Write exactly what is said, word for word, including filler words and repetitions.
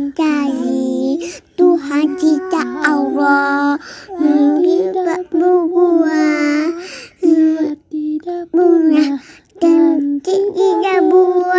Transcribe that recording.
cari Tuhan kita Allah tidak berbuah tidak punya dan tidak buah.